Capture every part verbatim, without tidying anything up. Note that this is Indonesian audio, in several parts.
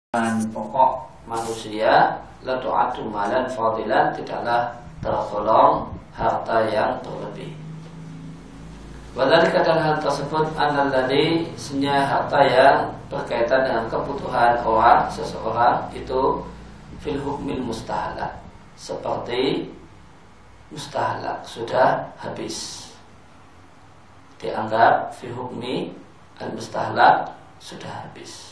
pokok manusia latu'atu malan fadilan, tidaklah tergolong harta yang berlebih. Wadhalika, dan hal tersebut analladzi, senya harta yang berkaitan dengan kebutuhan orang seseorang itu fil hukmil mustahalak, seperti mustahalak sudah habis, dianggap fi hukmi al mustahalak sudah habis.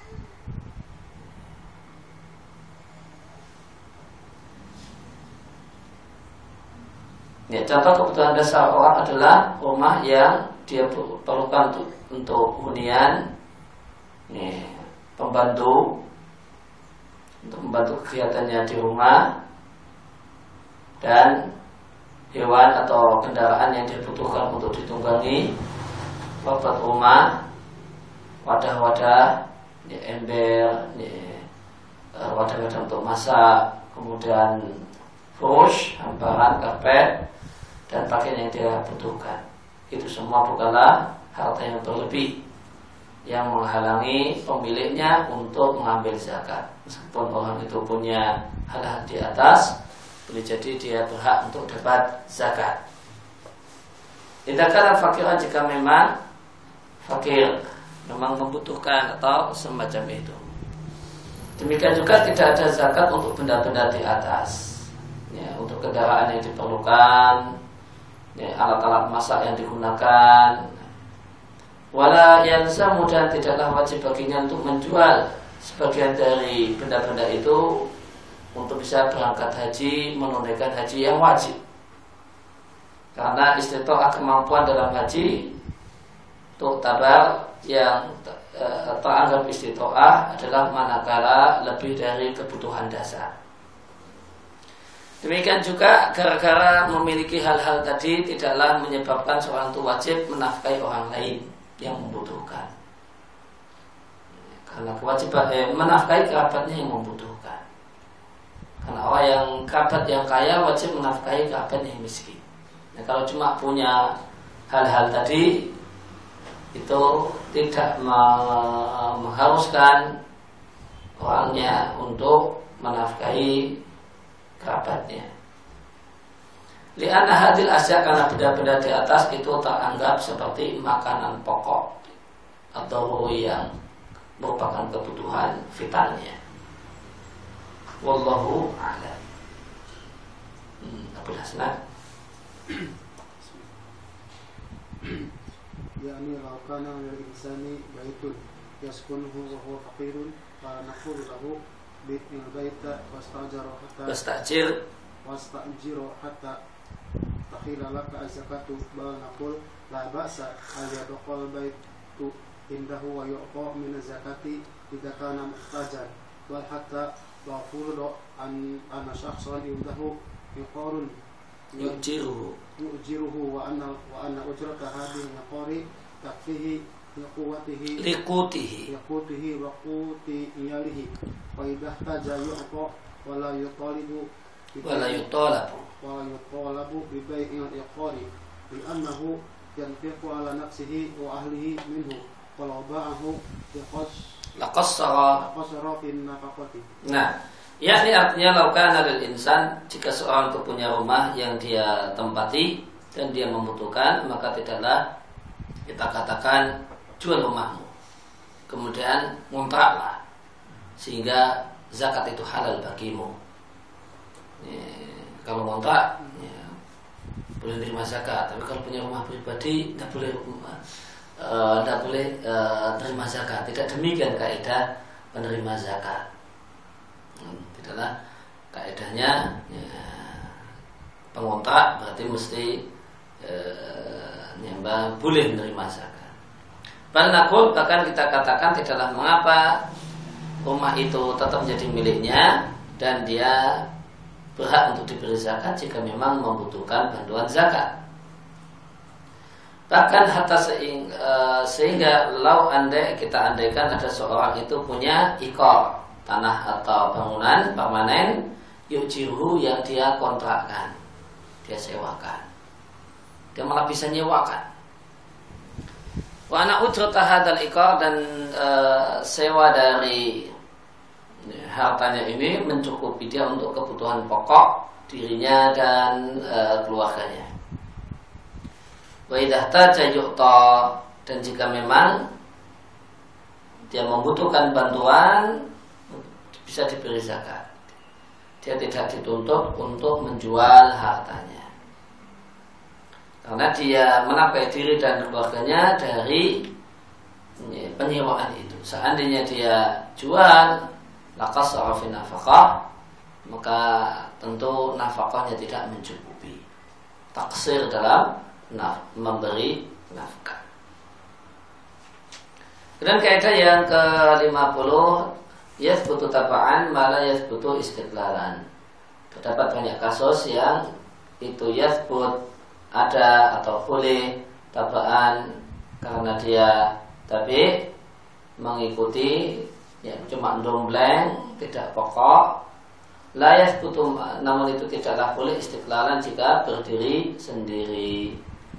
Ya, contoh kebutuhan dasar orang adalah rumah yang dia perlukan untuk, untuk hunian, ya, pembantu untuk membantu kegiatannya di rumah, dan hewan atau kendaraan yang dibutuhkan untuk ditunggangi, obat rumah, wadah-wadah, ya, ember, ya, wadah-wadah untuk masak, kemudian furush, hamparan, karpet, dan pakaian yang dia butuhkan. Itu semua bukanlah harta yang berlebih yang menghalangi pemiliknya untuk mengambil zakat. Meskipun orang itu punya hal-hal di atas, boleh jadi dia berhak untuk dapat zakat. Tidaklah fakiran, jika memang fakir, memang membutuhkan atau semacam itu. Demikian juga tidak ada zakat untuk benda-benda di atas, ya, untuk kendaraan yang diperlukan, ya, alat-alat masak yang digunakan. Wala yalzamu, dan tidaklah wajib baginya untuk menjual sebagian dari benda-benda itu untuk bisa berangkat haji, menunaikan haji yang wajib. Karena istita'ah, kemampuan dalam haji untuk tabar yang e, teranggap istita'ah adalah manakala lebih dari kebutuhan dasar. Demikian juga gara-gara memiliki hal-hal tadi tidaklah menyebabkan seorang itu wajib menafkahi orang lain yang membutuhkan. Karena kewajiban eh, menafkahi kerabatnya yang membutuhkan. Karena orang yang kerabat yang kaya wajib menafkahi kerabat yang miskin. Nah, kalau cuma punya hal-hal tadi itu tidak mengharuskan orangnya untuk menafkahi kerabatnya. Li'anna hadil asya, karena benda-benda di atas itu teranggap seperti makanan pokok atau yang merupakan kebutuhan vitalnya. Wallahu a'lam. Hmm, Abu Hasan. Yani law kana lil insani baitun yaskunuhu wa huwa faqirun fa naqulu lahu bi'il baita wastajara hatta wastajir wastajira hatta takhila laka az-zakatu bal naqul la ba'sa al yadkhul baitu indahu wa yu'ta min az-zakati idza kana muhtajan wal hatta la furdu an anna shakhsan indahu yuqarun yujiruhu yujiruhu wa anna wa anna ujrata hadhihi al-qari takfihi liquwatihi liqutihi liqutihi wa quti iyalihi wa idza taja yu'ta wa la yutalibu wala yutolabu wala yutalabu bi bai'il iqari bi annahu yanfiqu ala nafsihi wa ahlihi minhu walau ba'ahu yaqas laqassara laqassara fi nafaqati. Nah, yakni artinya laukana lil insan, jika seorang itu punya rumah yang dia tempati dan dia membutuhkan, maka tidaklah kita katakan jual rumahmu, kemudian ngontraklah sehingga zakat itu halal bagimu. Ya, kalau ngontrak ya, boleh menerima zakat, tapi kalau punya rumah pribadi tidak boleh tidak uh, boleh uh, terima zakat. Tidak demikian kaidah penerima zakat. Hmm, tidaklah kaidahnya ya, pengontrak berarti mesti uh, nyembah boleh menerima zakat. Bahkan bahkan kita katakan tidaklah mengapa rumah itu tetap menjadi miliknya dan dia berhak untuk diberi zakat jika memang membutuhkan bantuan zakat. Bahkan hatta sehingga, sehingga lau andai kita andaikan ada seorang itu punya ikor, tanah atau bangunan permanen, yujiruhu, yang dia kontrakkan, dia sewakan, dia malah bisa nyewakan. Wa ana ujrata hadzal ikor, dan e, sewa dari hartanya ini mencukupi dia untuk kebutuhan pokok dirinya dan e, keluarganya. Wa idza ihtaja yu'ta, dan jika memang dia membutuhkan bantuan bisa diberi zakat. Dia tidak dituntut untuk menjual hartanya, karena dia menafkahi diri dan keluarganya dari penyewaan itu. Seandainya dia jual laqasara fi nafaqah, maka tentu nafkahnya tidak mencukupi. Taksir dalam naf- memberi nafkah. Kemudian kaidah yang ke lima puluh, yathbutu taba'an ma la yathbutu istiqlalan. Terdapat banyak kasus yang itu yathbut ada atau boleh taba'an karena dia tapi mengikuti ya, cuma dombleng, tidak pokok. Layas butuh, namun itu tidaklah boleh istiqlalan jika berdiri sendiri.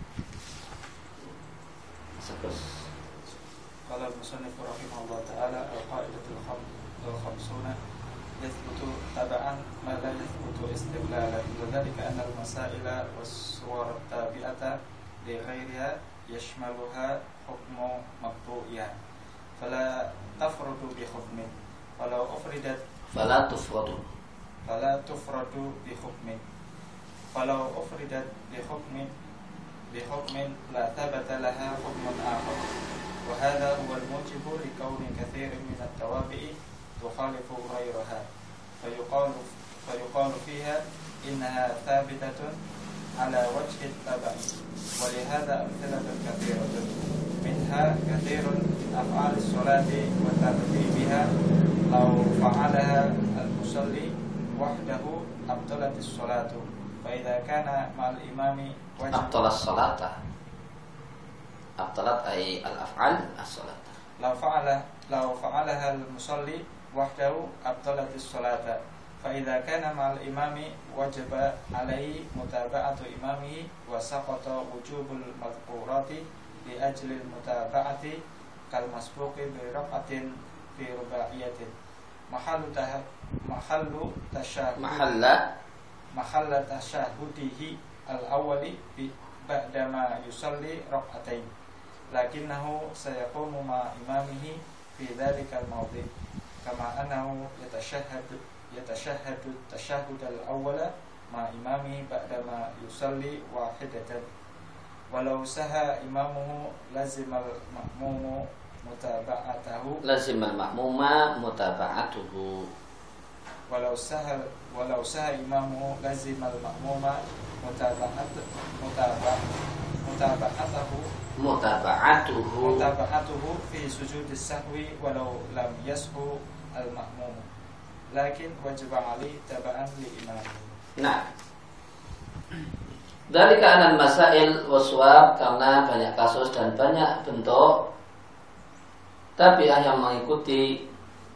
Sebus. Qala al-musannif rahimahullah ta'ala al-qa'idatul khamsuna yathbutu taba'an ma la yathbutu istiqlalan. Dzalika anna al-masaila was-suwar tabi'ata li ghairiha yashmaluha hukmu maqtu'iyah fala tafrudu bi hukmin walau ufridat fala tufradu fala tufradu bi hukmin walau ufridat bi hukmin bi hukmin la thabata laha hukmun akhar wa hadha huwa al-mujibu li kawni kathirin min at-tawabi'i tukhalifu ghayraha fayuqalu fayuqalu fiha innaha thabitatun ala wajhi at-taba'i wa li hadha amthalatun kathiratun minha kathirun af'al as-salati wa tartibiha law fa'alaha al-musalli wahdahu abtalat as-salatu fa idza kana ma'al imami abtalat as-salata abtalat ay al-af'al as-salata law fa'ala law fa'alaha al-musalli wahdahu abtalat as-salata fa idza kana ma'al imami wajaba alaihi mutaba'atu imamihi wa saqata wujubul madhkurati li ajlil mutaba'ati kal masbuqi bi raqatin fi rubaiyatin mahallu tah mahallu tasyahud mahalla mahalla tasyahudihi al awwali bi ba'da ma yusalli raqatain lakinnahu sayaqumu ma imamihi fi dhalika al mawdi' kama annahu yatashahhadu yatashahhadu tashahhud al awwala ma imamihi ba'da ma yusalli wahidatan walau saha imamuhu lazimal ma'mumu mutaba'atahu lazimal ma'muma mutaba'atuhu walau saha walau saha imamuhu lazimal ma'muma mutaba'at mutaba'at mutaba'atahu mutaba'atuhu mutaba'atuhu fi sujudis sahwi walau lam yashu al ma'mum lakin wajib ali taba'an li imam. Nah, dari keanan masail waswab, karena banyak kasus dan banyak bentuk tabi'ah yang mengikuti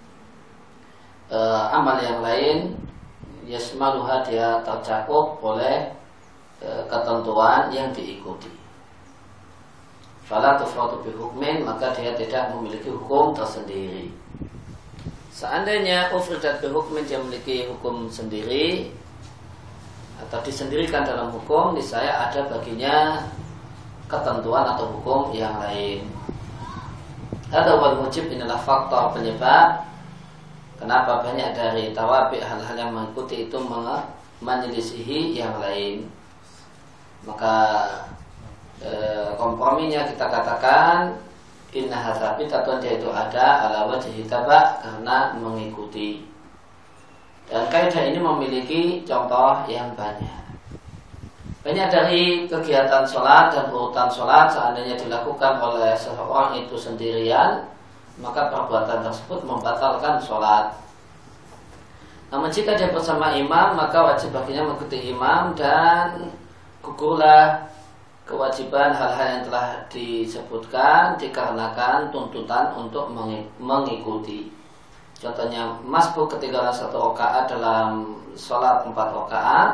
uh, amal yang lain, yasmaluha, dia tercakup oleh uh, ketentuan yang diikuti. Fala tufradu bi hukmin, maka dia tidak memiliki hukum tersendiri. Seandainya ufridat bi hukmin, dia memiliki hukum sendiri atau disendirikan dalam hukum, niscaya ada baginya ketentuan atau hukum yang lain. Ada wal mujib, inilah faktor penyebab kenapa banyak dari tawabi hal-hal yang mengikuti itu menyelisihi yang lain. Maka e, komprominya kita katakan inna hasabitatun, dia itu ada ala wajhi taba, karena mengikuti. Dan kaidah ini memiliki contoh yang banyak. Banyak dari kegiatan sholat dan urutan sholat, seandainya dilakukan oleh seseorang itu sendirian, maka perbuatan tersebut membatalkan sholat. Namun jika dia bersama imam, maka wajib baginya mengikuti imam dan gugurlah kewajiban hal-hal yang telah disebutkan dikarenakan tuntutan untuk mengikuti. Contohnya masbuk ketinggalan satu rakaat dalam sholat empat rakaat,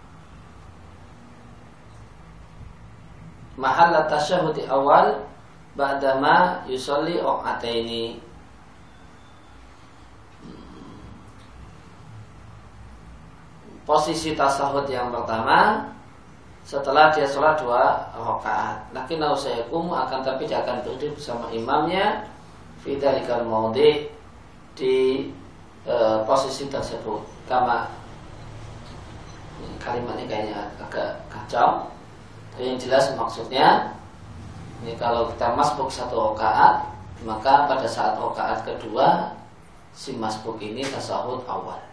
mahal tasyahud awal, ba'dama yusolli rakaataini. Posisi tasahud yang pertama setelah dia sholat dua rakaat. Lakin nausayakum akan tapi dia akan berdiri bersama imamnya fi dzalikal maudhi di e, posisi tersebut. Kama kalimat ini kayaknya agak kacau. Tapi yang jelas maksudnya ini kalau kita masbuk satu rakaat, maka pada saat rakaat kedua si masbuk ini tasahud awal.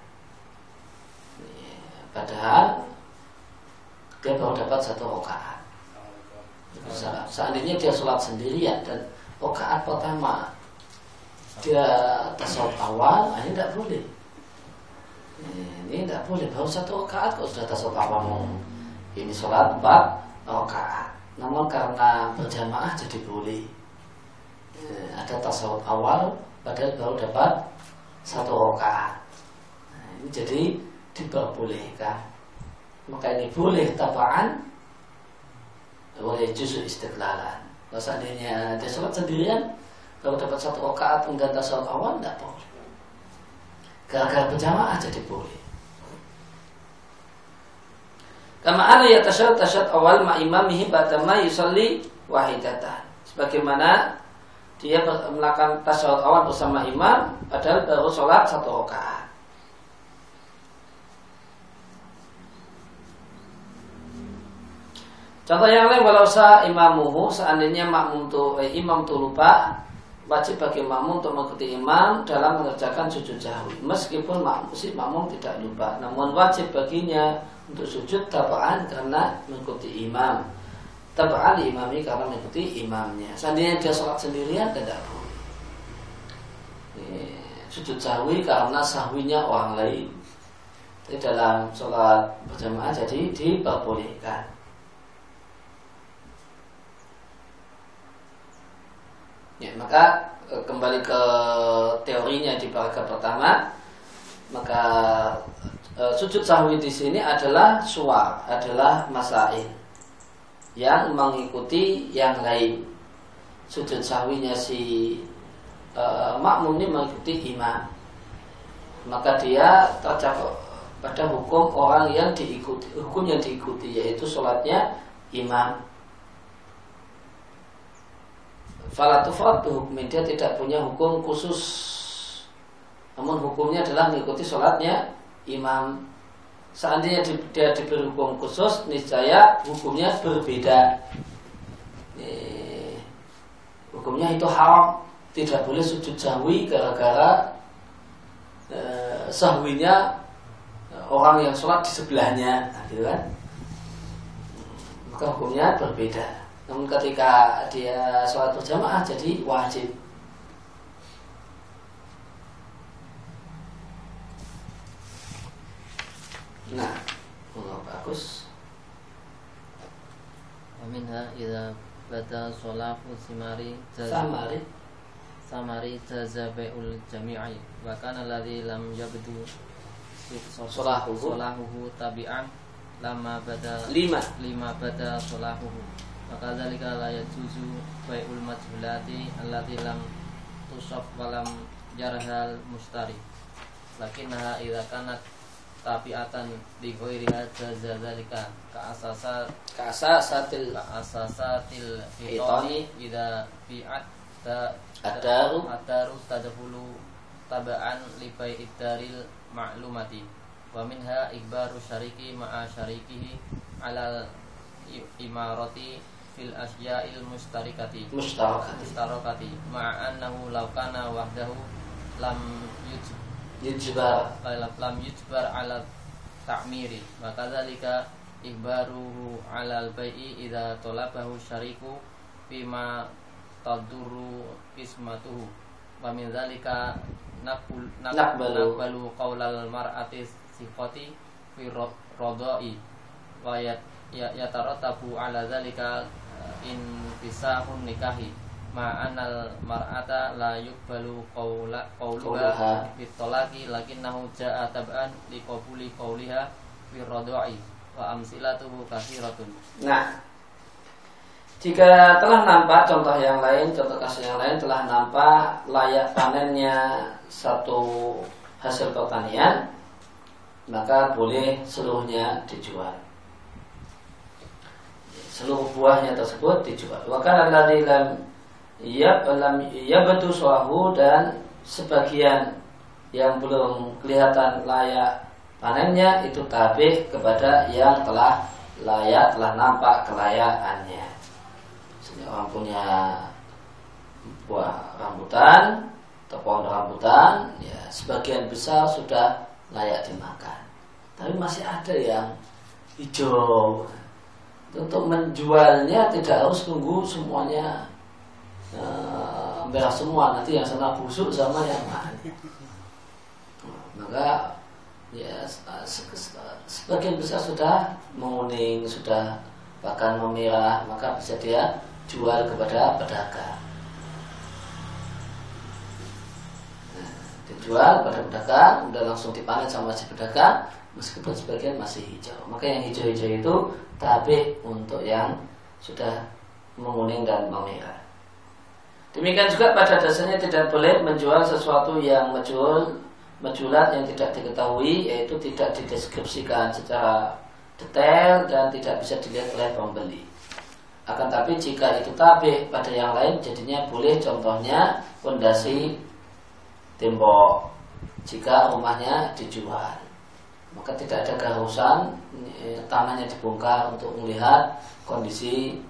Padahal dia baru dapat satu rakaat. Seandainya dia sholat sendirian dan rakaat pertama dia tasawuf awal, ini tidak boleh. Ini tidak boleh. Baru satu rakaat kok sudah tasawuf awal. Ini sholat empat rakaat. Namun karena berjamaah jadi boleh. Ada tasawuf awal, padahal baru dapat satu rakaat. Nah, ini jadi diperbolehkan. Maka ini boleh tabaan, boleh justru istiqlalan. Kalau seandainya dia sholat sendirian kalau dapat satu rakaat kemudian tasawuf awal, tidak boleh. Gara-gara berjamaah jadi boleh. Kama ana yatasyahhad tasyahhud awal ma imamihi ba'dama yusalli wahidatan. Sebagaimana dia melakukan tasyahud awal bersama imam padahal baru sholat satu rakaat. Contoh yang lain, walau sa imamuhu, seandainya makmum tu, eh, imam tu lupa, wajib bagi makmum untuk mengikuti imam dalam mengerjakan sujud sahwi. Meskipun makmum si makmum tidak lupa, namun wajib baginya untuk sujud tabaan karena mengikuti imam. Tabaan diimami karena mengikuti imamnya. Seandainya dia sholat sendirian tidak boleh. Sujud sahwi karena sahwinya orang lain. Jadi dalam sholat berjamaah jadi diperbolehkan. Ya, maka kembali ke teorinya di paragraf pertama, maka e, sujud sahwi di sini adalah suwar, adalah masail yang mengikuti yang lain. Sujud sahwinya si e, makmum ini mengikuti imam, maka dia tercakup pada hukum orang yang diikuti, hukum yang diikuti yaitu sholatnya imam. Fala tufrad hukum, dia tidak punya hukum khusus, namun hukumnya adalah mengikuti sholatnya imam. Seandainya dia diberi hukum khusus, niscaya hukumnya berbeda. Eh, hukumnya itu haram, tidak boleh sujud sahwi gara-gara eh, sahwinya orang yang sholat di sebelahnya, nah, gitu kan? Maka hukumnya berbeda. Namun ketika dia sholat berjamaah jadi wajib. Nah, oh, bagus. Waminha idza bata sholahu simari samari samari tazabaul jami'i wa kana alladhi lam yabdu sholahu sholahu tabi'an lama bada lima lima bada sholahuhu. Maka dzalika la yajuzu bai'ul majhulati allati lam tusaf wa lam jarhal mustari. Lakinnaha idza kanat tabi'atan li ghairiha jaza dzalika ka asasa ka asasatil ka asasatil fitani idza bi'at ta adaru adaru tadkhulu taba'an li bai'id daril ma'lumati. Wa minha ikbaru syariki ma'a syarikihi ala imarati fil asya'il mustarikati mustarakati mustarakati ma'annahu law kana wahdahu lam yujbar lam yujbar ala ta'miri. Maka dzalika ikbaruhu ala al-bai'i idza talabahu syariku bima tadurru ismatuhu. Wa min dzalika naqbul naqbalu qaulal mar'ati sifati fi radai wa ya yatarattabu ala dzalika in fisahun nikahi ma'anal mar'ata la yuqbalu qawla qawluha bitolaki lakinnahu ja'a tab'an liqabuli qawliha fi radai wa amsilatuhu katsiratun. Nah, Jika telah nampak contoh yang lain, contoh kasus yang lain telah nampak layak panennya satu hasil pertanian, maka boleh seluruhnya dijual. Seluruh buahnya tersebut dijual. Wa kana alladzi lam yab lam yabtu sawahu, dan sebagian yang belum kelihatan layak panennya itu tabi kepada yang telah layak, telah nampak kelayakannya. Orang punya buah rambutan atau pohon rambutan, ya sebagian besar sudah layak dimakan, tapi masih ada yang hijau. Untuk menjualnya tidak harus tunggu semuanya e, merah semua, nanti yang sana busuk sama yang mana. Maka ya sebagian besar sudah menguning, sudah bahkan memerah, maka bisa dia jual kepada pedagang. Nah, dijual pada pedagang, udah langsung dipanen sama si pedagang, meskipun sebagian masih hijau. Maka yang hijau-hijau itu tabi untuk yang sudah menguning dan memerah. Demikian juga pada dasarnya tidak boleh menjual sesuatu yang majhul, majhulat yang tidak diketahui, yaitu tidak dideskripsikan secara detail dan tidak bisa dilihat oleh pembeli. Akan tapi jika itu tabi pada yang lain, jadinya boleh. Contohnya pondasi tembok, jika rumahnya dijual, maka tidak ada keharusan tanahnya dibongkar untuk melihat kondisi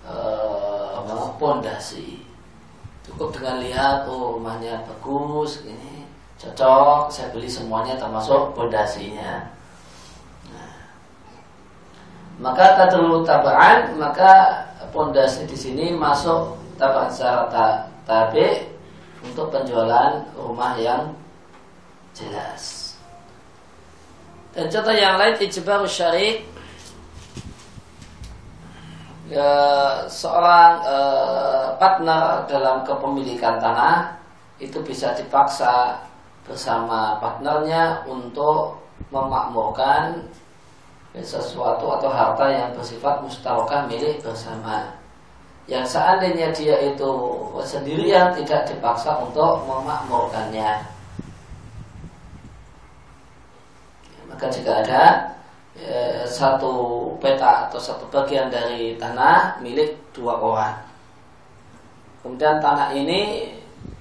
pondasi. Eh, Cukup dengan lihat, oh rumahnya bagus, ini cocok, saya beli semuanya termasuk pondasinya. Nah, maka tadulu tabaan, maka pondasi di sini masuk tabaan secara tabi untuk penjualan rumah yang jelas. Dan contoh yang lain ijbaru syarik, ya, seorang eh, partner dalam kepemilikan tanah itu bisa dipaksa bersama partnernya untuk memakmurkan sesuatu atau harta yang bersifat mustarokah milik bersama, yang seandainya dia itu sendirian tidak dipaksa untuk memakmurkannya. Maka jika ada e, satu peta atau satu bagian dari tanah milik dua orang, kemudian tanah ini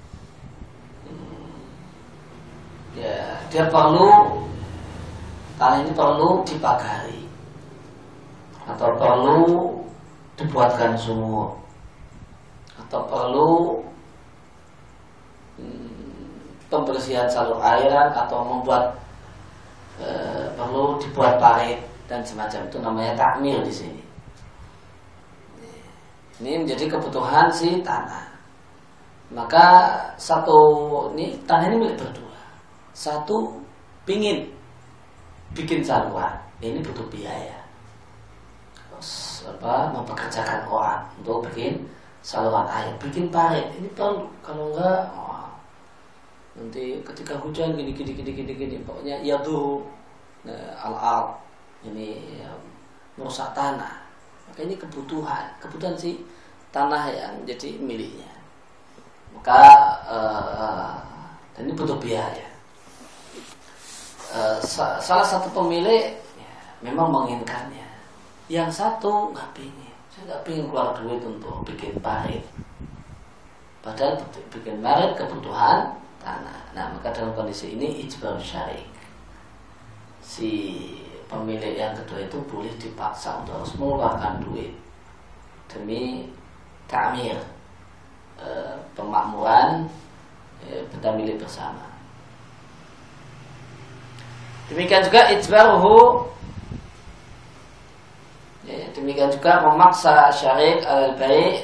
ya, dia perlu tanah ini perlu dipagari atau perlu dibuatkan sumur atau perlu hmm, pembersihan salur airan atau membuat e, perlu dibuat parit dan semacam itu, namanya takmir di sini. Ini menjadi kebutuhan si tanah. Maka satu ini tanah ini milik berdua. Satu pingin bikin saluran, ini butuh biaya. Terus apa? Mempekerjakan orang untuk bikin saluran air, bikin parit, ini perlu. Kalau enggak, oh, nanti ketika hujan gini gini gini gini gini, pokoknya ya tuh nah, al-al ini ya, merusak tanah. Maka ini kebutuhan, kebutuhan si tanah yang jadi miliknya. Maka uh, dan ini butuh biaya. Uh, salah satu pemilik ya, memang menginginkannya, yang satu nggak pingin. Saya nggak pingin keluar duit untuk bikin parit, padahal bikin parit kebutuhan tanah. Nah, maka dalam kondisi ini ijbar syarik, si pemilik yang kedua itu boleh dipaksa untuk harus mengeluarkan duit demi ta'mir, e, pemakmuran e, benda milik bersama. Demikian juga ijbaruhu, ya, demikian juga memaksa syarik al-bai'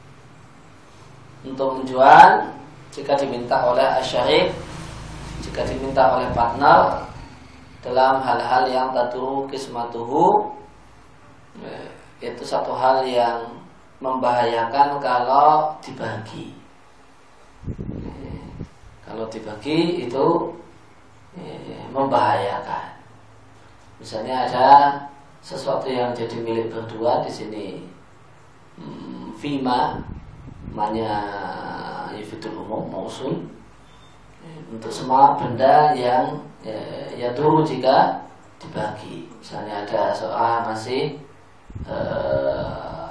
untuk menjual jika diminta oleh asyarik, jika diminta oleh partner dalam hal-hal yang taduru kismatuhu, itu satu hal yang membahayakan kalau dibagi. Kalau dibagi itu membahayakan. Misalnya ada sesuatu yang jadi milik berdua di sini, hmm, fima manya yufidul umum mausul untuk semua benda yang ya, ya dulu jika dibagi. Misalnya ada soal masih uh,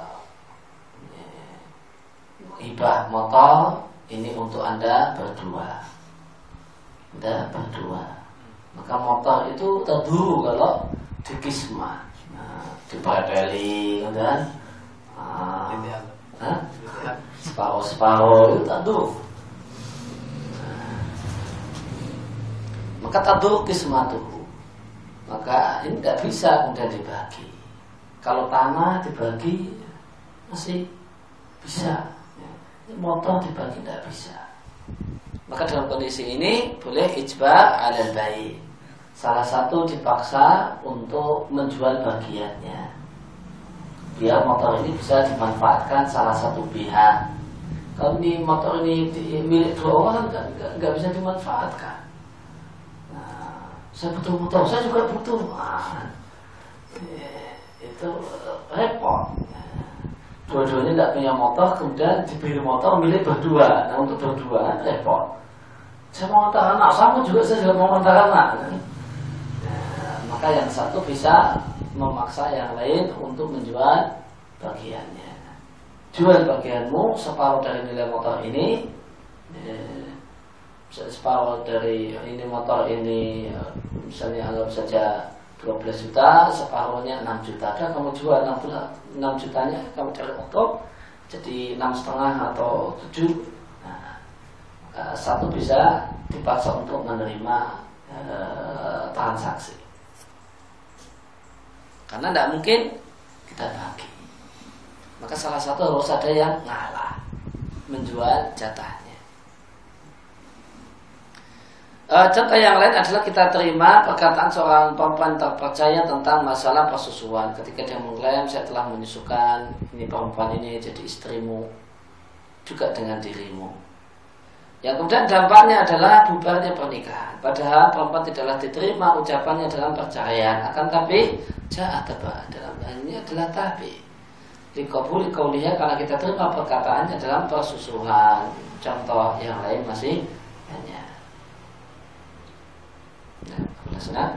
hibah motor ini untuk Anda berdua. Anda berdua. Maka motor itu terdulu kalau dikismah, nah, dibadali kan, ah, separuh-separuh itu terdulu. Nah, maka terdulu kismah tuh, maka ini tidak bisa kemudian dibagi. Kalau tanah dibagi masih bisa, motor dibagi tidak bisa. Maka dalam kondisi ini boleh ijba' alal bai'. Salah satu dipaksa untuk menjual bagiannya. Biar motor ini bisa dimanfaatkan salah satu pihak. Kalau ini motor ini milik dua orang kan nggak bisa dimanfaatkan. Nah, saya butuh motor, saya juga butuh. Nah, itu repot. Dua-duanya tidak punya motor, kemudian dibeli motor milik berdua. Nah, untuk berdua repot. Saya mau antar anak, sama juga saya juga mau antar anak. Nah, maka yang satu bisa memaksa yang lain untuk menjual bagiannya. Jual bagianmu separuh dari nilai motor ini, eh, separuh dari ini motor ini, misalnya anggap saja dua belas juta, separuhnya enam juta. Ada kamu jual enam jutanya, kamu cari motor jadi enam setengah atau tujuh. Nah, satu bisa dipaksa untuk menerima e, transaksi, karena tidak mungkin kita bagi. Maka salah satu harus ada yang ngalah, menjual jatahnya. E, contoh yang lain adalah kita terima perkataan seorang perempuan terpercaya tentang masalah persusuan. Ketika dia mengklaim, saya telah menyusukan ini perempuan ini jadi istrimu juga dengan dirimu. Yang kemudian dampaknya adalah bubarnya pernikahan. Padahal perempuan tidaklah diterima ucapannya dalam perceraian. Akan tapi jahat dalam hal ini adalah tabi. Likobuli kauliha, karena kita terima perkataannya dalam persusuhan. Contoh yang lain masih banyak. Nah, jelaskan.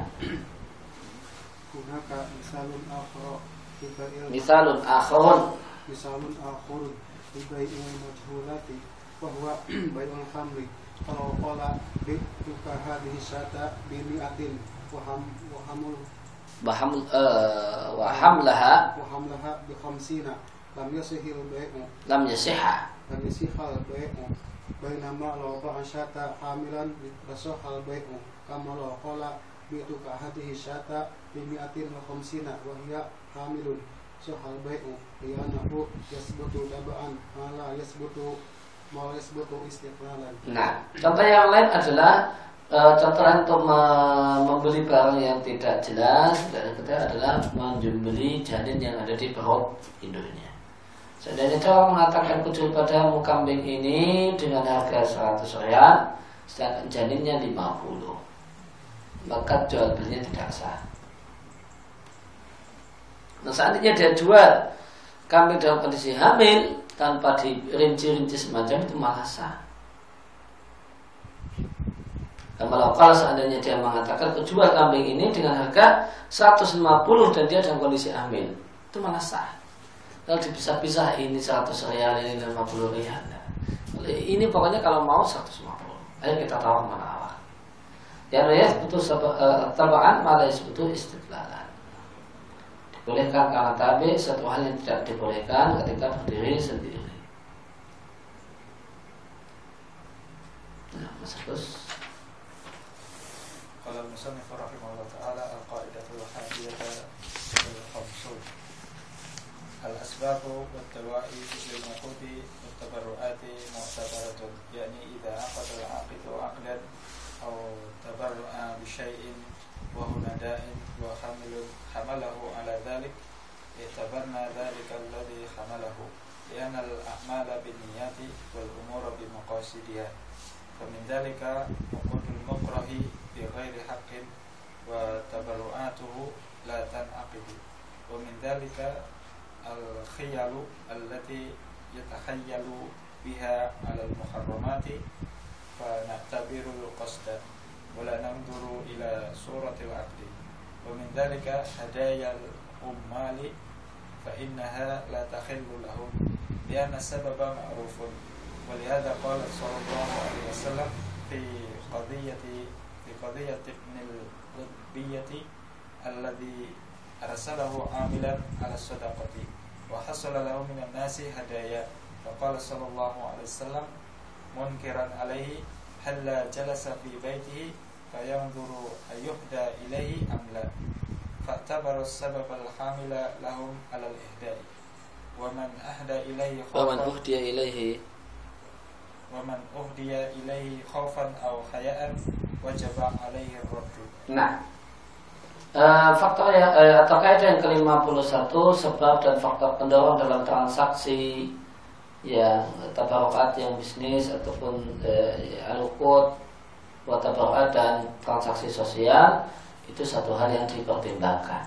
Hunaka misalun akhar Misalun akhar Misalun akhar Ibai'il majhulati Wahwa bai'ul khamri. Kalau qala bi'tuka hadhihi syata bimi'atin Waham Wahamul Wahamul uh, Wahamlaha Wahamlaha bi khamsina Lam yasihil bai'u Lam yasihha Lam yasihal bai'u Bainama law ba'a syata hamilan rasahal bai'u Kama law qala bi'tuka hadhihi syata bimi'atin wa khamsina Wahya hamilun sahal bai'u Liyanahu yasbutu taba'an Mala yasbutu Mala yasbutu istiqlalan. Nah, contoh yang lain adalah uh, contoh untuk me- membeli barang yang tidak jelas. Dan ketiga adalah menjumbeli janin yang ada di perut induknya. Seandainya orang mengatakan kucul padamu kambing ini dengan harga seratus riyal, sedangkan janinnya lima puluh, maka jual belinya tidak sah. Nah, seandainya dia jual kambing dalam kondisi hamil tanpa dirinci-rinci semacam itu malah sah. Kalau kalau seandainya dia mengatakan kejual kambing ini dengan harga seratus lima puluh dan dia dalam kondisi hamil, itu malah sah. Kalau dipisah-pisah ini seratus riyal, ini lima puluh riyal. Ini pokoknya kalau mau seratus lima puluh. Ayo kita tawar mana awal. Ya riyal butuh tabaan, malah butuh istiqlalan. Dibolehkan karena tabi, satu hal yang tidak dibolehkan ketika berdiri sendiri. Nah, Mas Agus. Qala al-musannif rahimahullah ta'ala al-qa'idatul hadiyah al-khamsun al-asbabu wat-tawa'i lil-uqudi wat-tabarru'ati mu'tabaratun, yakni idza aqada al-aqidu aqdan aw tabarru'a bi syai'in wa huwa da'in wa hamilun hamalahu ala dhalik i'tabarna dhalika alladhi hamalahu li'anna al-a'mala bin-niyyati wal umura bi maqasidiha fa min dhalika uqudul mukrahi bi ghairi haqqin wa tabarru'atuhu la tan'aqidu wa min dhalika al-khiyalu allati يتخيل بها على المحرمات فنعتبر القصد ولا ننظر إلى صورة العقد. ومن ذلك هدايا العمال فإنها لا تحل لهم لأن السبب معروف. ولهذا قال صلى الله عليه وسلم في قضية في قضية ابن الغبية الذي أرسله عاملا على الصدقة وحصل له من الناس هدايا، فقال صلى الله عليه وسلم منكرا عليه هل جلس في بيته فينظر أيهدى إليه أم لا، فاعتبر السبب الحامل لهم على الإهداء. ومن أهدى إليه خوفا ومن أهدي إليه ومن أهدي إليه خوفا أو حياء وجب عليه الرد. Nah, uh, faktor yang uh, terkait yang kelima puluh satu, sebab dan faktor pendorong dalam transaksi yang tabarukat, yang bisnis ataupun uh, al-uqud wa tabarukat dan transaksi sosial, itu satu hal yang dipertimbangkan.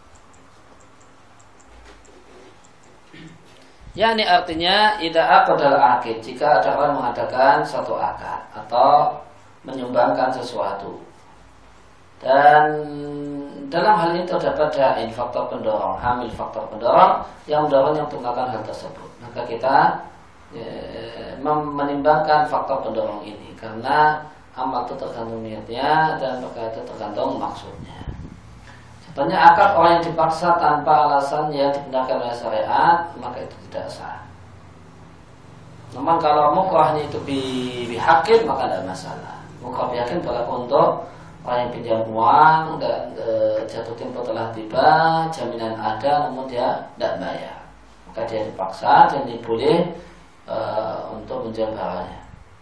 Ya, ini artinya idza aqdal aqid, jika ada orang mengadakan satu akad atau menyumbangkan sesuatu, dan dalam hal ini terdapat dain, faktor pendorong, hamil faktor pendorong yang mendorongnya untuk melakukan hal tersebut, maka kita e, menimbangkan faktor pendorong ini, karena amal itu tergantung niatnya dan perkara itu tergantung maksudnya. Contohnya akad orang yang dipaksa tanpa alasan yang dibenarkan oleh syariat, maka itu tidak sah. Namun kalau mukrahnya itu bihakin, maka tidak masalah. Mukrah bihakin berlaku untuk orang yang pinjam uang dan e, jatuh tempo telah tiba, jaminan ada namun dia tidak bayar, maka dia dipaksa dan boleh e, untuk menjual barangnya.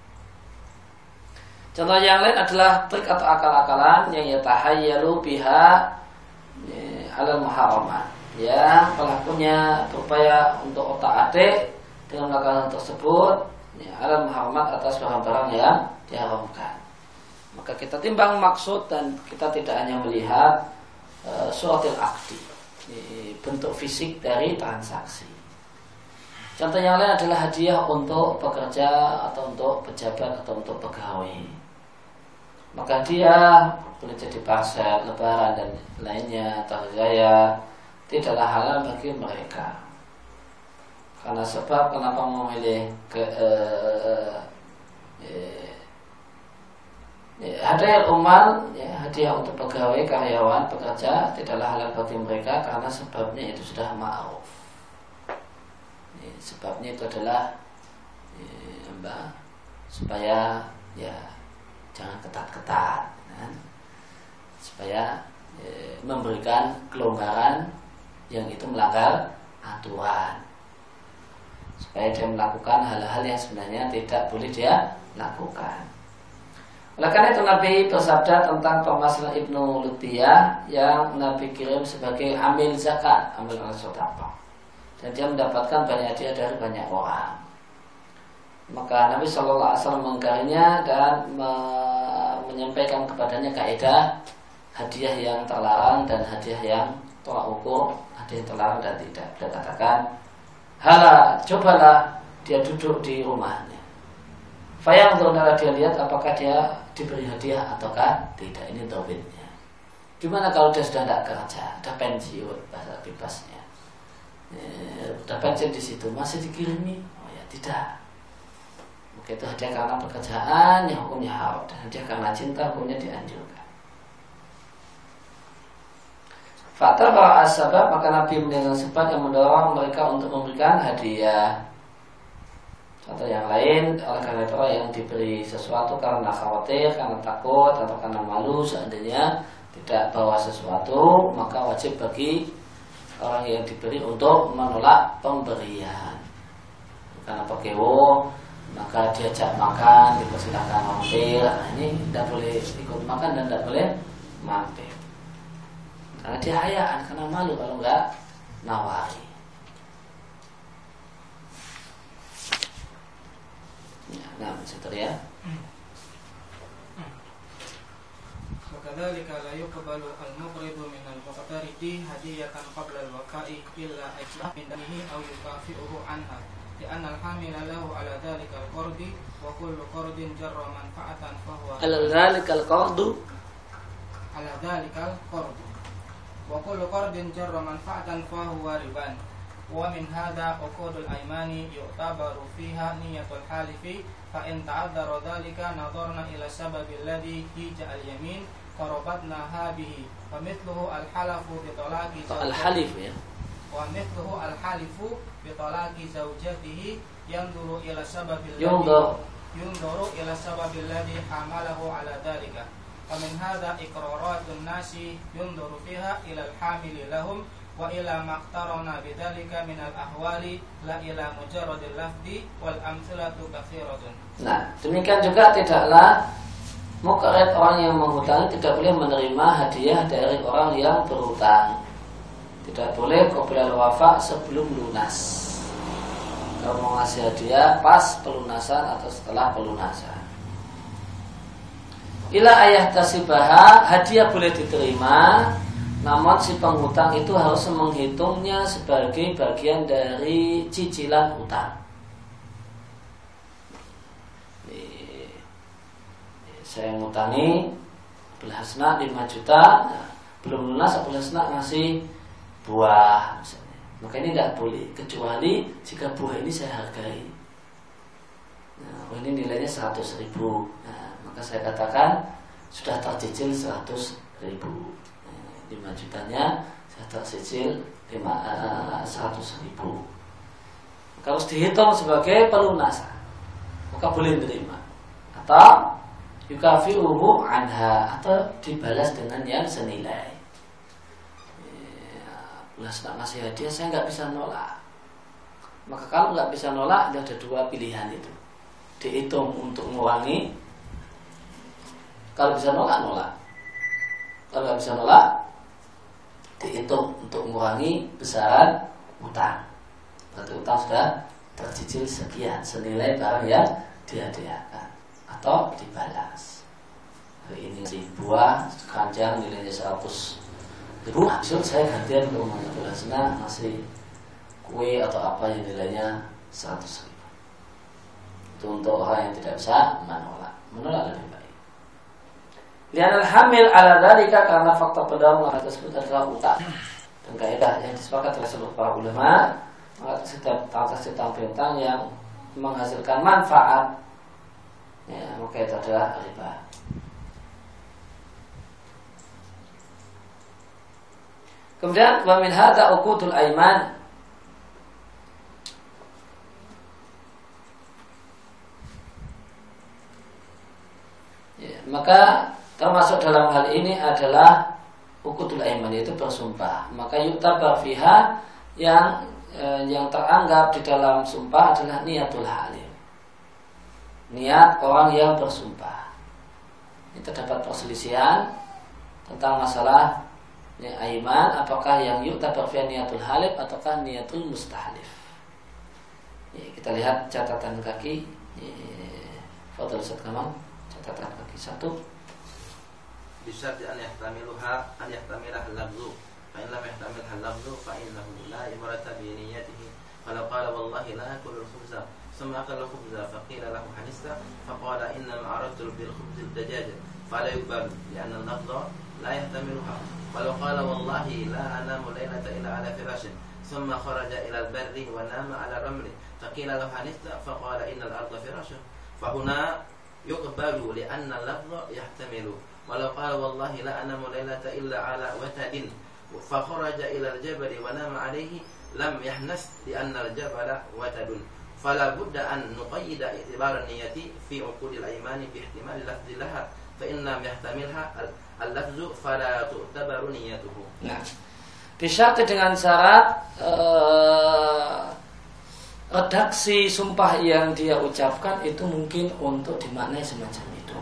Contoh yang lain adalah trik atau akal-akalan yang yatahayyalu biha alal muharramat, ya pelakunya berupaya untuk otak-atik dengan melakukan hal tersebut ya, alal muharramat, atas barang-barang yang diharamkan. Maka kita timbang maksud dan kita tidak hanya melihat uh, suratil aqdi, bentuk fisik dari transaksi. Contoh yang lain adalah hadiah untuk pekerja atau untuk pejabat atau untuk pegawai. Maka dia boleh jadi parsel, lebaran dan lainnya, atau raya, tidaklah halal bagi mereka. Karena sebab kenapa memilih ke uh, uh, hadiah umal, ya, hadiah untuk pegawai, karyawan, pekerja tidaklah halal bagi mereka karena sebabnya itu sudah ma'ruf. Ya, sebabnya itu adalah ya, apa, supaya ya jangan ketat-ketat, kan? Supaya ya, memberikan kelonggaran yang itu melanggar aturan, supaya dia melakukan hal-hal yang sebenarnya tidak boleh dia lakukan. Oleh karena itu Nabi bersabda tentang permasalahan Ibnu Lutiyah yang Nabi kirim sebagai amil zakat, amil al-sodaqah, dan dia mendapatkan banyak hadiah dari banyak orang. Maka Nabi shallallahu alaihi wasallam mengingkarinya dan me- menyampaikan kepadanya kaidah hadiah yang terlarang dan hadiah yang tolak ukur, hadiah yang terlarang dan tidak. Dia katakan, hala, cobalah dia duduk di rumahnya. Fayang untuk dia lihat apakah dia diberi hadiah ataukah tidak. Ini dobitnya. Gimana kalau dia sudah tidak kerja, sudah pensiun, bahasa bebasnya, ya, sudah pensiun di situ masih dikirimi? Oh ya tidak. Maka itu hadiah karena pekerjaan yang hukumnya haram, dan hadiah karena cinta hukumnya dianjurkan. Faktor bahwa asbab, maka Nabi mendengar sebab yang mendorong mereka untuk memberikan hadiah. Contoh yang lain, oleh karena itu orang yang diberi sesuatu karena khawatir, karena takut, atau karena malu seandainya tidak bawa sesuatu, maka wajib bagi orang yang diberi untuk menolak pemberian. Karena pakewo, maka diajak makan, dipersilakan mampir. Nah, ini tidak boleh ikut makan dan tidak boleh mampir. Karena dia hayaan, karena malu kalau enggak nawari. Ya, nah, sebentar ya. وكذلك لا يقبل المقرض من المقترض هدية قبل الوقاء إلا أجزاء من دمه أو يكافئه عنها لأن الحامل له على ذلك القرض وكل قرض جر منفعة فهو على ذلك القرض على ذلك القرض وكل قرض جر منفعة فهو ربا. ومن هذا عقود الأيمان يعتبر فيها نية الحالف فإن تعذر ذلك نظرنا إلى السبب الذي هيج اليمين فربطناها به ومثله الحلف بطلاق الحلف ya ومثله الحلف بطلاق زوجته ينظر إلى السبب الذي ينظر ينظر إلى السبب الذي حمله على ذلك. ومن هذا إقرارات الناس ينظر فيها إلى الحامل لهم وإلى ما اقترن بذلك من الأحوال لا إلى مجرد اللفظ والأمثلة كثيرة. Nah, demikian juga tidaklah muqrid, orang yang menghutangi tidak boleh menerima hadiah dari orang yang berhutang. Tidak boleh qabla al-wafa sebelum lunas. Kalau mau ngasih hadiah pas pelunasan atau setelah pelunasan. Ila ayah tasibaha, hadiah boleh diterima, namun si penghutang itu harus menghitungnya sebagai bagian dari cicilan hutang. Saya ngutangi Abdulhasna lima juta, nah, belum lunas Abdulhasna ngasih buah misalnya. Maka ini tidak boleh kecuali jika buah ini saya hargai. Nah, buah ini nilainya seratus ribu. Nah, maka saya katakan sudah tercicil seratus ribu. Nah, lima jutanya saya tercicil seratus ribu. Maka harus dihitung sebagai pelunasan. Maka boleh menerima. Atau yukafiruhu anha, atau dibalas dengan yang senilai. Belas tak ngasih hadiah, saya nggak bisa nolak. Maka kalau nggak bisa nolak, ada dua pilihan itu. Dihitung untuk mengurangi. Kalau bisa nolak, nolak. Kalau nggak bisa nolak, dihitung untuk mengurangi besaran utang. Berarti utang sudah tercicil sekian, senilai barang yang dihadiahkan. Atau dibalas. Hari ini si buah keranjang nilainya seratus ribu, maksud saya gantian ke rumahnya Abdulhasna ngasih kue atau apa yang nilainya seratus ribu. Itu untuk orang yang tidak bisa menolak. Menolak lebih baik. Lianal hamil ala dalika, karena fakta pendahulu hal tersebut adalah utang. Dan kaidah yang disepakati oleh seluruh para ulama, maka setiap atas utang piutang yang menghasilkan manfaat, ya, maka itu adalah riba. Kemudian wa min hadza uqudul aiman. Ya, maka termasuk dalam hal ini adalah uqudul aiman, yaitu bersumpah. Maka yuktabar fiha, yang eh, yang teranggap di dalam sumpah adalah niatul halim. Niat orang yang bersumpah. Ini terdapat perselisihan tentang masalah ya, aiman, apakah yang yuktabar fi niatul halif ataukah niatul mustahlif. Ya, kita lihat catatan kaki. Ya, Fadhil Ustaz Kamal, catatan kaki satu. Bisyarti an yahtamiluha an yahtamilah al-lafzu, fa in lam yahtamilha al-lafzu fa innahu la ibrata bi niyyatihi. Kalau qala wallahi la akulu al-khubza ثم أكل الخبز فقيل له حنست فقال إنما أردت بالخبز الدجاج فلا يقبل لأن اللفظ لا يحتملها. ولو قال والله لا أنام ليلة إلا على فراش ثم خرج إلى البر ونام على الرمل فقيل له حنست فقال إن الأرض فراش فهنا يقبل لأن اللفظ يحتمل. ولو قال والله لا أنام ليلة إلا على وتد فخرج إلى الجبل ونام عليه لم يحنس لأن الجبل وتد. فلا بد أن نقيد اعتبار النية في عقود الأيمان باحتمال لفظ لها فإن لم يحتملها اللفظ فلا تعتبر نيته. Nah, disyarat dengan syarat uh, redaksi sumpah yang dia ucapkan itu mungkin untuk dimaknai semacam itu.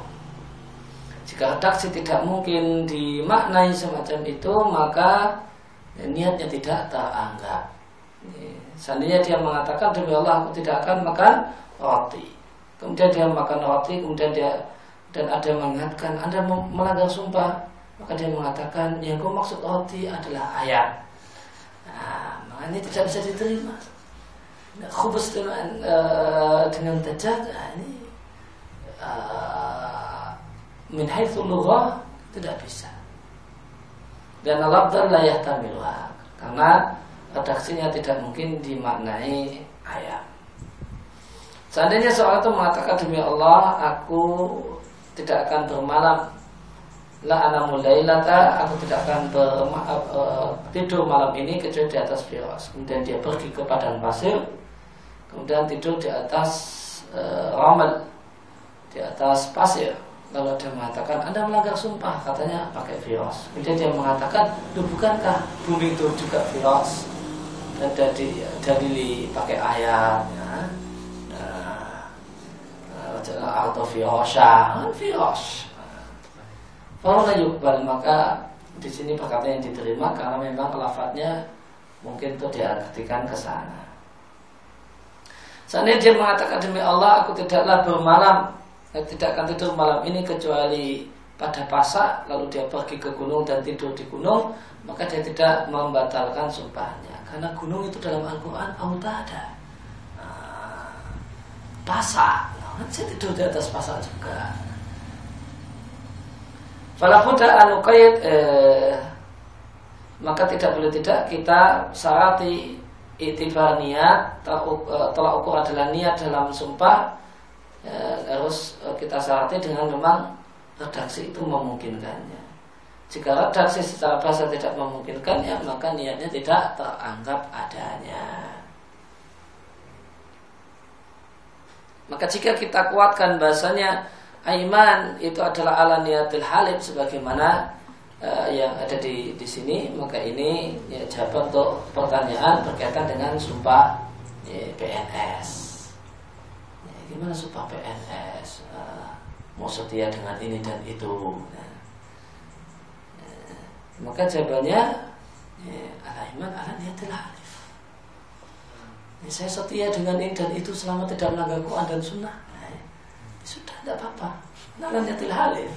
Jika redaksi tidak mungkin dimaknai semacam itu, maka ya, niatnya tidak teranggap. Seandainya dia mengatakan demi Allah aku tidak akan makan roti, kemudian dia makan roti, kemudian dia dan ada yang mengingatkan Anda melanggar sumpah, maka dia mengatakan yang kau maksud roti adalah ayam. Nah, makanya tidak bisa diterima. Nah, khubus dengan uh, dengan dajjal ini uh, min haitsu lughah tidak bisa. Dan al-lafdz la yahtamiluha, karena redaksinya tidak mungkin dimaknai ayam. Seandainya seorang itu mengatakan demi Allah aku tidak akan bermalam, la anamu lailata, aku tidak akan berma, uh, tidur malam ini kecuali di atas firas. Kemudian dia pergi ke padang pasir, kemudian tidur di atas uh, ramal, di atas pasir. Lalu dia mengatakan Anda melanggar sumpah, katanya pakai firas. Kemudian dia mengatakan, "Duh, bukankah bumi itu juga firas?" Dan dari dari pakai ayat, ya. Atau firasha, firas. Kalau yukbal, maka di sini perkataan yang diterima karena memang lafadznya mungkin itu diartikan ke sana. Seandainya dia mengatakan demi Allah aku tidaklah bermalam, tidak akan tidur malam ini kecuali pada pasak, lalu dia pergi ke gunung dan tidur di gunung, maka dia tidak membatalkan sumpahnya karena gunung itu dalam Al-Quran autada, nah, pasak. Saya tidur di atas pasak juga. Falabuda anuqaid, eh, maka tidak boleh tidak kita syarati itibar niat, tolak ukur adalah niat dalam sumpah, eh, harus kita syarati dengan memang redaksi itu memungkinkannya. Jika redaksi secara bahasa tidak memungkinkannya, maka niatnya tidak teranggap adanya. Maka jika kita kuatkan bahasanya aiman itu adalah ala niyatil halif sebagaimana uh, yang ada di di sini, maka ini ya, jawaban untuk pertanyaan berkaitan dengan sumpah ya, P N S. Ya, gimana sumpah P N S? Uh, mau setia dengan ini dan itu. Nah, uh, maka jawabannya ya, ala iman ala niyatil halif. Ya, saya setia dengan ini dan itu selama tidak melanggar Quran dan Sunnah. Nah, ya, sudah tidak apa-apa. Ala niyatil halif.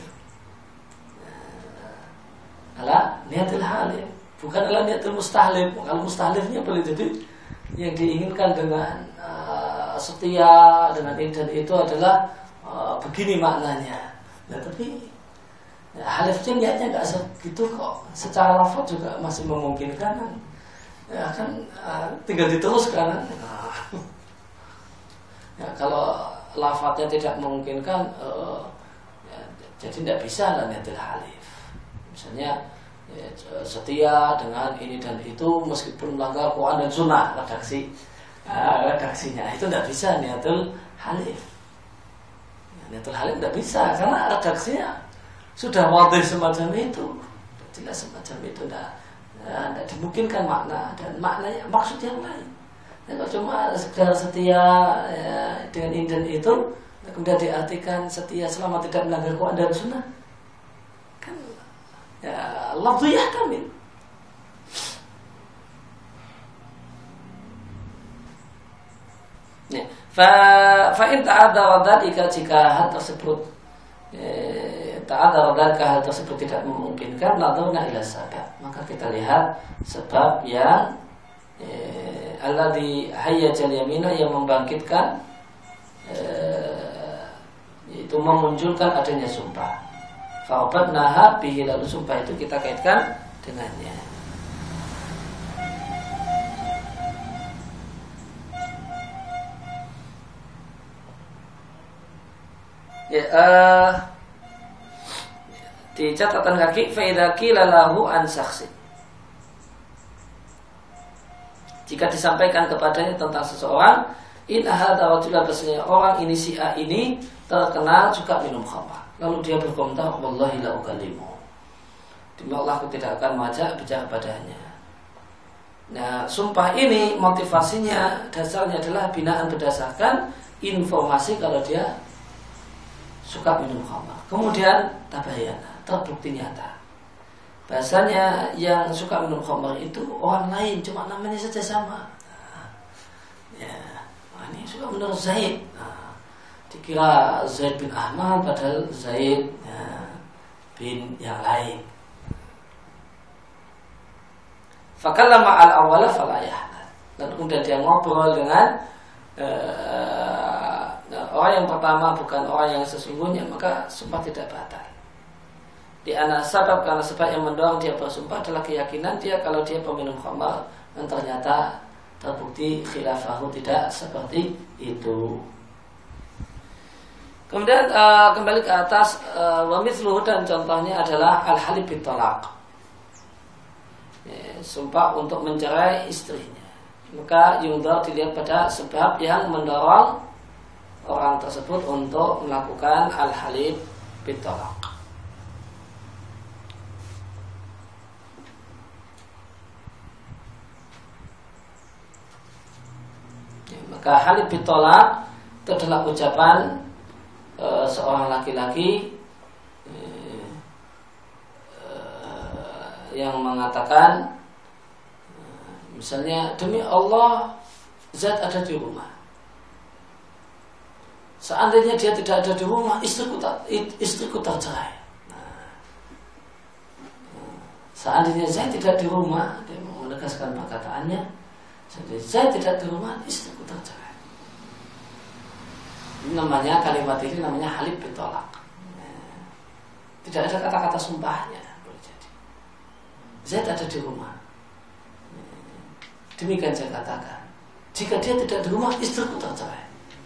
Ala niyatil halif, bukan ala niyatil mustahlif. Kalau mustahlifnya boleh jadi yang diinginkan dengan uh, setia dengan ini dan itu adalah uh, begini maknanya. Nah, tapi ya, halifnya niatnya nggak segitu kok. Secara lafaz juga masih memungkinkan. Ya kan uh, tinggal diteruskan. Nah, ya, kalau lafadznya tidak memungkinkan, uh, ya, jadi tidak bisa lah niatil halif. Misalnya ya, setia dengan ini dan itu meskipun melanggar Quran dan Sunnah, redaksi uh, redaksinya itu tidak bisa niatul halif. Ya, niatul halif tidak bisa karena redaksinya sudah wadih semacam itu, jelas semacam itu. Tidak Ya, tidak dimungkinkan makna dan maknanya maksud yang lain. Ya, kalau cuma sekedar setia ya, dengan ini dan itu, kemudian diartikan setia selama tidak melanggar Quran dan Sunnah, kan ya lafzu yahtamil. Ya, fa fa in ta'adzara dzalika, jika hal tersebut eh, ta'adzara dzalika hal tersebut tidak memungkinkan, nadharna ila sabab, maka kita lihat sebab yang eh, alladzi hayyajal yamina, yang membangkitkan eh, itu memunculkan adanya sumpah. Fa'abadnaha bihi, lalu sumpah itu kita kaitkan dengannya. Ya, uh, di catatan kaki fa qila lahu an saksi, jika disampaikan kepadanya tentang seseorang, in ahadha rajulan, bahasanya orang ini si A ini terkenal suka minum khamr, lalu dia berkomentar wallahi la ukallimu, demi Allah aku tidak akan mengajak bicara padanya. Nah, sumpah ini motivasinya dasarnya adalah binaan berdasarkan informasi kalau dia suka minum khamr. Kemudian tabayana, terbukti nyata bahasanya yang suka minum khamr itu orang lain, cuma namanya saja sama. Nah, ya, nah, ini suka menurut Zaid. Nah, dikira Zaid bin Ahmad padahal Zaid ya, bin yang lain. Fakallama al-awwala fala yahmad, dan kemudian dia ngobrol dengan uh, orang yang pertama bukan orang yang sesungguhnya, maka sumpah tidak batal. Di antara sebab karena sebab yang mendorong dia bersumpah adalah keyakinan dia kalau dia peminum khamar, dan ternyata terbukti khilafahu tidak seperti itu. Kemudian uh, kembali ke atas, uh, wa mithluhu, dan contohnya adalah al-halif bitolak, ya, sumpah untuk mencerai istrinya. Maka yundar dilihat pada sebab yang mendorong orang tersebut untuk melakukan al-halif bitolak. Ya, maka halif bitolak itu adalah ucapan Uh, seorang laki-laki uh, uh, yang mengatakan uh, misalnya, demi Allah Zat ada di rumah. Seandainya dia tidak ada di rumah, istriku, tak, istriku tercerai. Nah, uh, seandainya Zat tidak di rumah, dia menegaskan perkataannya, seandainya Zat tidak di rumah, istriku tercerai. Ini namanya, kalimat ini namanya halif bitolak. Tidak ada kata-kata sumpahnya. Boleh jadi Zaid ada di rumah, demikian saya katakan, jika dia tidak di rumah, istriku tercerai.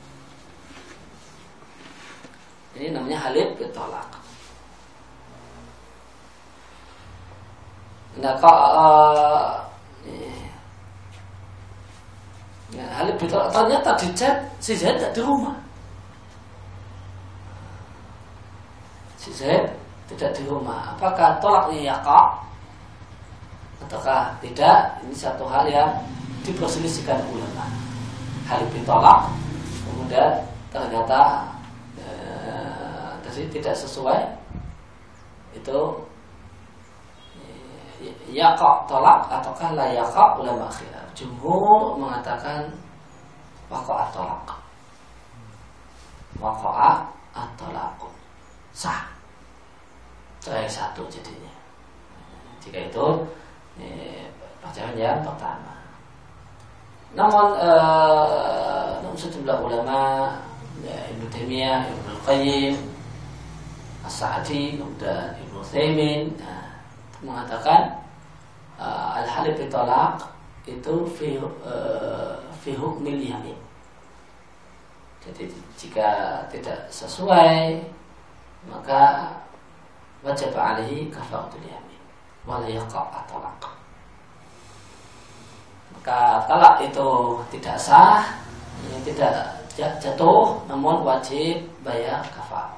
Ini namanya halif bitolak. Nah, kalau uh, ya, halif bitolak, ternyata di chat si Zaid tidak di rumah. Si Zaid tidak di rumah. Apakah tolaknya yaqa ataukah tidak? Ini satu hal yang diperselisihkan ulama. Halif bitolak, kemudian ternyata eh, tadi tidak sesuai, itu yaqa tolak ataukah la yaqa, ulama khilaf. Jumhur mengatakan waqa'a tolak, waqa'a at-tolak, sah, cerai satu jadinya. Jika itu percayaan yang pertama. Namun eh, sejumlah ulama, ya, Ibnu Taimiyah, Ibnu Qayyim, As-Sa'di, dan Ibnu Utsaimin, nah, mengatakan uh, al-halif bitolak itu fi uh, fi hukmil yamin. Jadi jika tidak sesuai, maka wajib alaihi kafaratul yamin wala yaqa' talaq. Maka talak itu tidak sah, ini tidak jatuh, namun wajib bayar kafarah.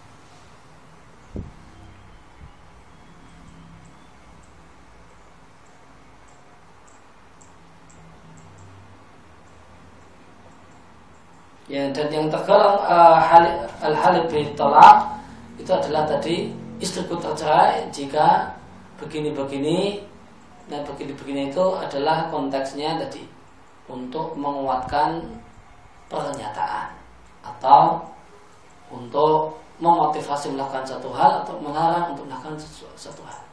Ya, dan yang tergolong uh, al-halif bitolak itu adalah tadi istriku tercerai jika begini-begini. Nah, begini-begini itu adalah konteksnya tadi untuk menguatkan pernyataan atau untuk memotivasi melakukan satu hal atau melarang untuk melakukan satu hal.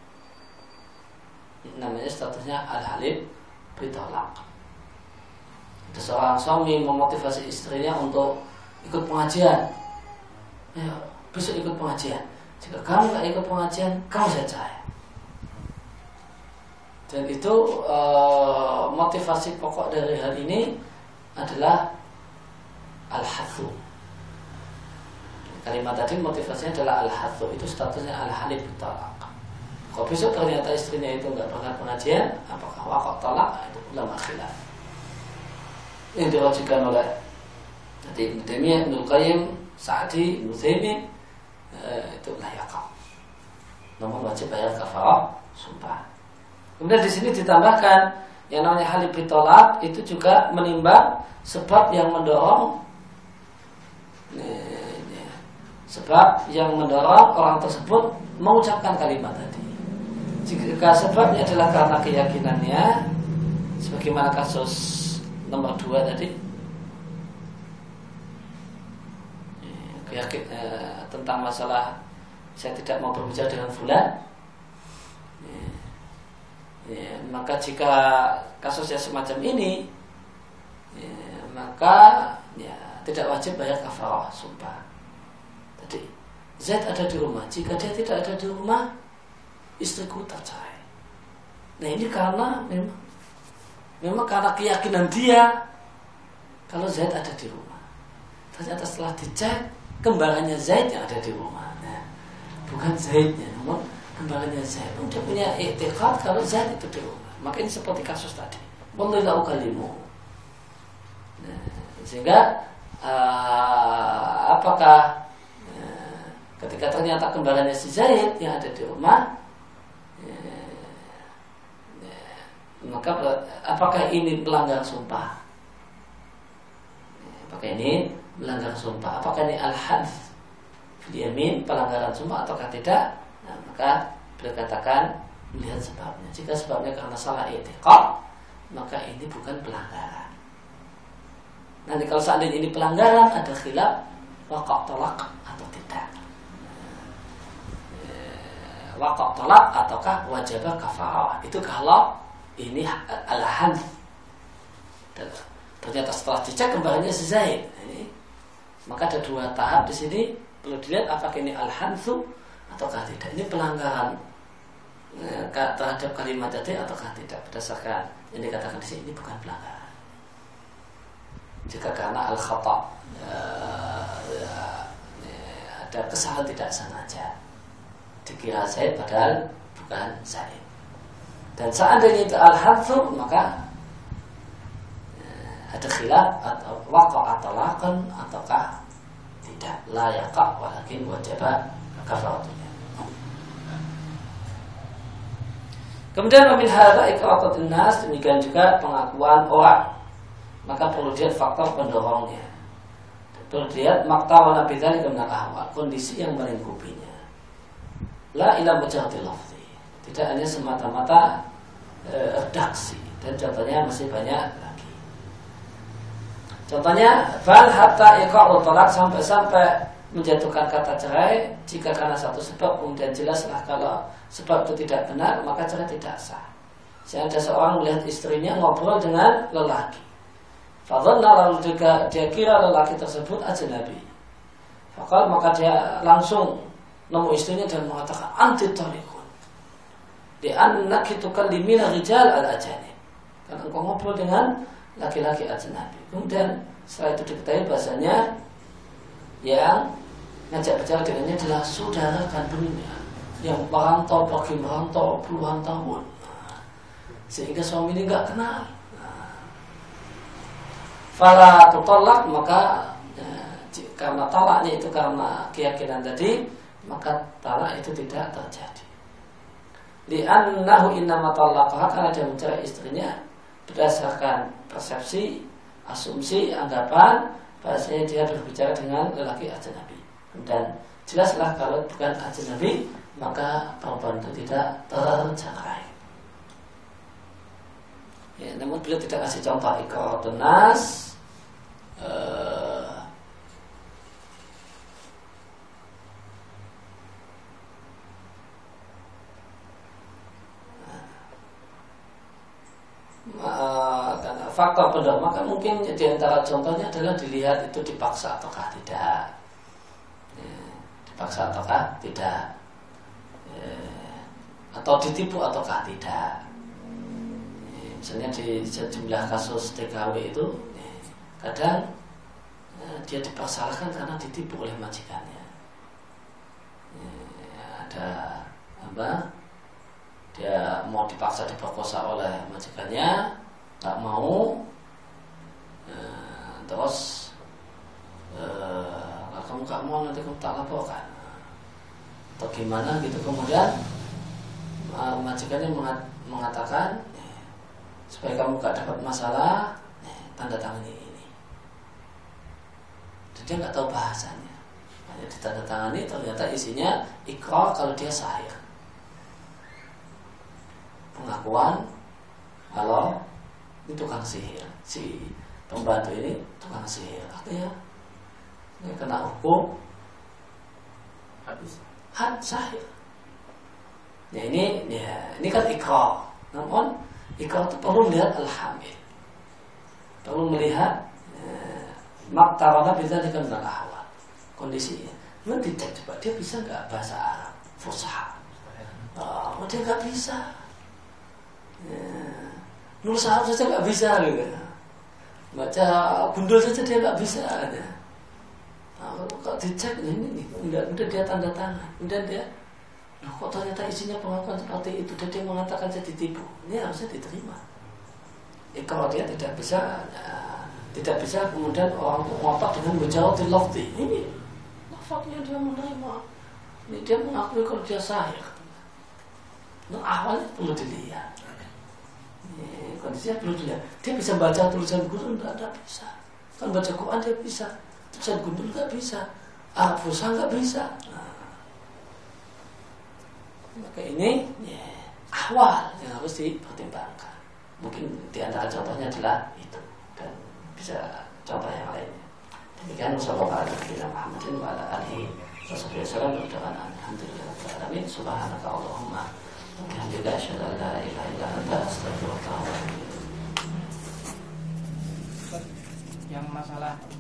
Namanya statusnya al-halif bitolak. Ada seorang suami memotivasi istrinya untuk ikut pengajian. Ya, besok ikut pengajian. Jika kamu tidak ikut pengajian, kamu saya cerai. Dan itu e, motivasi pokok dari hal ini adalah al-hathu. Kalimat tadi motivasinya adalah al-hathu. Itu statusnya al-halif bitolak. Kalau besok ternyata istrinya itu tidak berangkat pengajian, apakah waqa'a talaq? Itu ulama khilaf. Yang diwajibkan oleh jadi Ibnu Taimiyah, Ibnu Qayyim, Sa'di, Ibnu Utsaimin, eh, itu la yaqa'. Namun wajib bayar kafarah sumpah. Kemudian di sini ditambahkan yang namanya halif bitolak itu juga menimbang sebab yang mendorong eh, sebab yang mendorong orang tersebut mengucapkan kalimat tadi. Jika sebabnya adalah karena keyakinannya, sebagaimana kasus nomor dua tadi, keyakin eh, tentang masalah saya tidak mau berbicara dengan fulan, ya, maka jika kasusnya semacam ini, ya, maka ya, tidak wajib bayar kafarah sumpah. Tadi Zaid ada di rumah, jika dia tidak ada di rumah, istriku tercerai. Nah ini karena memang memang karena keyakinan dia kalau Zaid ada di rumah. Ternyata setelah dicek, kembarannya Zaid yang ada di rumah. Nah, bukan Zaidnya, namun kembarannya Zaid. Dia punya i'tiqad kalau Zaid itu di rumah. Maka ini seperti kasus tadi. Wallahu kalimu. Nah, sehingga uh, apakah uh, ketika ternyata kembarannya si Zaid yang ada di rumah, uh, uh, maka apakah ini melanggar sumpah? Apakah ini melanggar sumpah? Apakah ini al-hadz fil yamin, pelanggaran sumpah ataukah tidak? Nah, maka beliau katakan melihat sebabnya. Jika sebabnya karena salah i'tiqad, maka ini bukan pelanggaran. Nanti kalau seandainya ini pelanggaran, ada khilaf waqa' talaq atau tidak. Waqa' talaq ataukah wajib kafarah. Itu kalau ini al-hadz. Ternyata setelah dicek kembarannya si Zaid. Ini, maka ada dua tahap di sini. Perlu dilihat apakah ini al-hadzu ataukah tidak. Ini pelanggaran eh, terhadap kalimat tadi ataukah tidak. Berdasarkan yang dikatakan di sini, ini bukan pelanggaran. Jika karena al-khata' eh, eh, ada kesalahan tidak sengaja, dikira Zaid padahal bukan Zaid. Dan seandainya itu al-hadzu, maka ada khilaf atau waqa' talaqan ataukah tidak, la yaqa' walakin wajaba kafaratunya. Kemudian min hadza iqratun nas, demikian juga pengakuan orang. Maka perlu dilihat faktor pendorongnya. Perlu dilihat maktawana bidzalika min al-ahwal, kondisi yang melingkupinya. La ila mujarradil lafzi, tidak hanya semata-mata e, redaksi, dan contohnya masih banyak. Contohnya, fal hatta iqa'u talaq, sampai-sampai menjatuhkan kata cerai jika karena satu sebab, kemudian jelaslah kalau sebab itu tidak benar, maka cerai tidak sah. Sehingga ada seorang melihat istrinya ngobrol dengan lelaki. Fadhanna, lalu juga dia kira lelaki tersebut ajnabi. Fakal, maka dia langsung nemu istrinya dan mengatakan anti tariqun. Di annaki tukallimina rijal al-ajanib. Karena engkau ngobrol dengan laki-laki ajnabi. Kemudian setelah itu diketahui bahasanya yang ngajak bicara dengannya adalah saudara kandungnya yang merantau, pergi merantau puluhan tahun, sehingga suami ini nggak kenal. Fala tutallaq, maka ya, karena talaknya itu karena keyakinan tadi, maka talak itu tidak terjadi. Li'annahu innama talaqaha, karena dia mencari istrinya berdasarkan persepsi, asumsi, anggapan bahasanya dia berbicara dengan lelaki ajnabi. Dan jelaslah kalau bukan ajnabi, maka perempuan itu tidak tercerai. Ya, namun beliau tidak kasih contoh iqratun nas. Uh, karena faktor pendorong, maka mungkin di antara contohnya adalah dilihat itu dipaksa ataukah tidak, ya, dipaksa ataukah tidak, ya, atau ditipu ataukah tidak. Ya, misalnya di sejumlah kasus T K W itu, ya, kadang ya, dia dipaksakan karena ditipu oleh majikannya. Ya, ada apa? Dia mau dipaksa diperkosa oleh majikannya, nggak mau, e, terus e, kalau kamu nggak mau nanti kamu tak laporkan, atau gimana gitu. Kemudian majikannya mengatakan supaya kamu nggak dapat masalah, tanda tangan ini. Dan dia nggak tahu bahasanya, hanya ditandatangani, ternyata isinya ikrar kalau dia sahih. Pengakuan kalau ini tukang sihir, si pembantu ini tukang sihir, artinya ini kena hukum hadis had sahir. Ya ini, ya ini kan ikrar. Namun ikrar itu perlu melihat al-hamil, perlu melihat eh, maktarana bidzalika min al-ahwal, kondisinya. Nanti dicek coba dia bisa nggak bahasa Arab fusha. Oh, dia nggak bisa. Ya. Nulis Arab saja nggak bisa gitu. Baca gundul saja dia nggak bisa. Ya. Nah, kalau dicek ini nih, udah udah dia tanda tangan, udah dia, loh kok ternyata isinya pengakuan seperti itu, dan dia mengatakan saya ditipu, ini harusnya diterima. Ya, kalau dia tidak bisa, ya, tidak bisa kemudian orang itu ngotot dengan menjawab di lafzi ini, lafaznya dia menerima, ini dia mengakui kalau dia sahih. Nah, awalnya perlu dilihat, ya, kondisinya perlu dilihat. Dia bisa baca tulisan guru, tidak ada bisa, kan baca Quran dia bisa. Tulisan gundul nggak bisa, Arab fusha nggak bisa. Nah, maka ini ya, awal yang harus dipertimbangkan. Mungkin di antara contohnya adalah itu, dan bisa contoh yang lainnya. Demikian sallallahu alaihi wa alihi wasallam. Alhamdulillah. Subhanaka Allahumma wa bihamdika asyhadu an la ilaha illa anta astaghfiruka wa atubu ilaik. Yang masalah